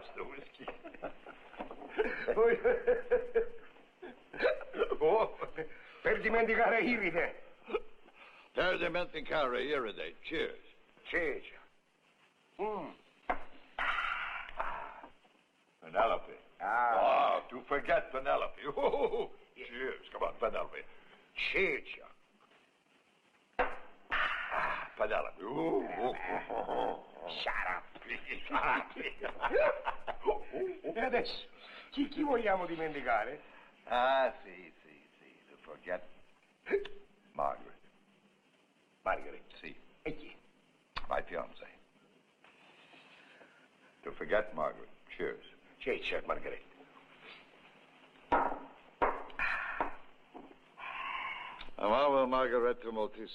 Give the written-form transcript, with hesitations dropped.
sto whisky. Oh, per dimenticare Iride. Per dimenticare Iride. Cheers. Cheers. Penelope. Ah. To forget Penelope. Cheers. Come on, Penelope. Cheers. Penelope. Shut up. E adesso, chi vogliamo dimenticare? Sì. To forget Margaret. Margaret. Sì. E chi? My fiancée. To forget Margaret. Cheers. Cheers, Margaret. Amavo Margaret moltissimo.